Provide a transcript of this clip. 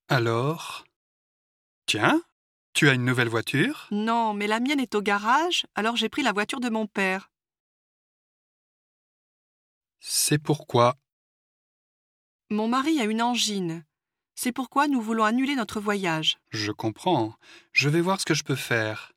Alors? Tiens, tu as une nouvelle voiture? Non, mais la mienne est au garage, alors j'ai pris la voiture de mon père. C'est pourquoi? Mon mari a une angine. C'est pourquoi nous voulons annuler notre voyage. Je comprends. Je vais voir ce que je peux faire.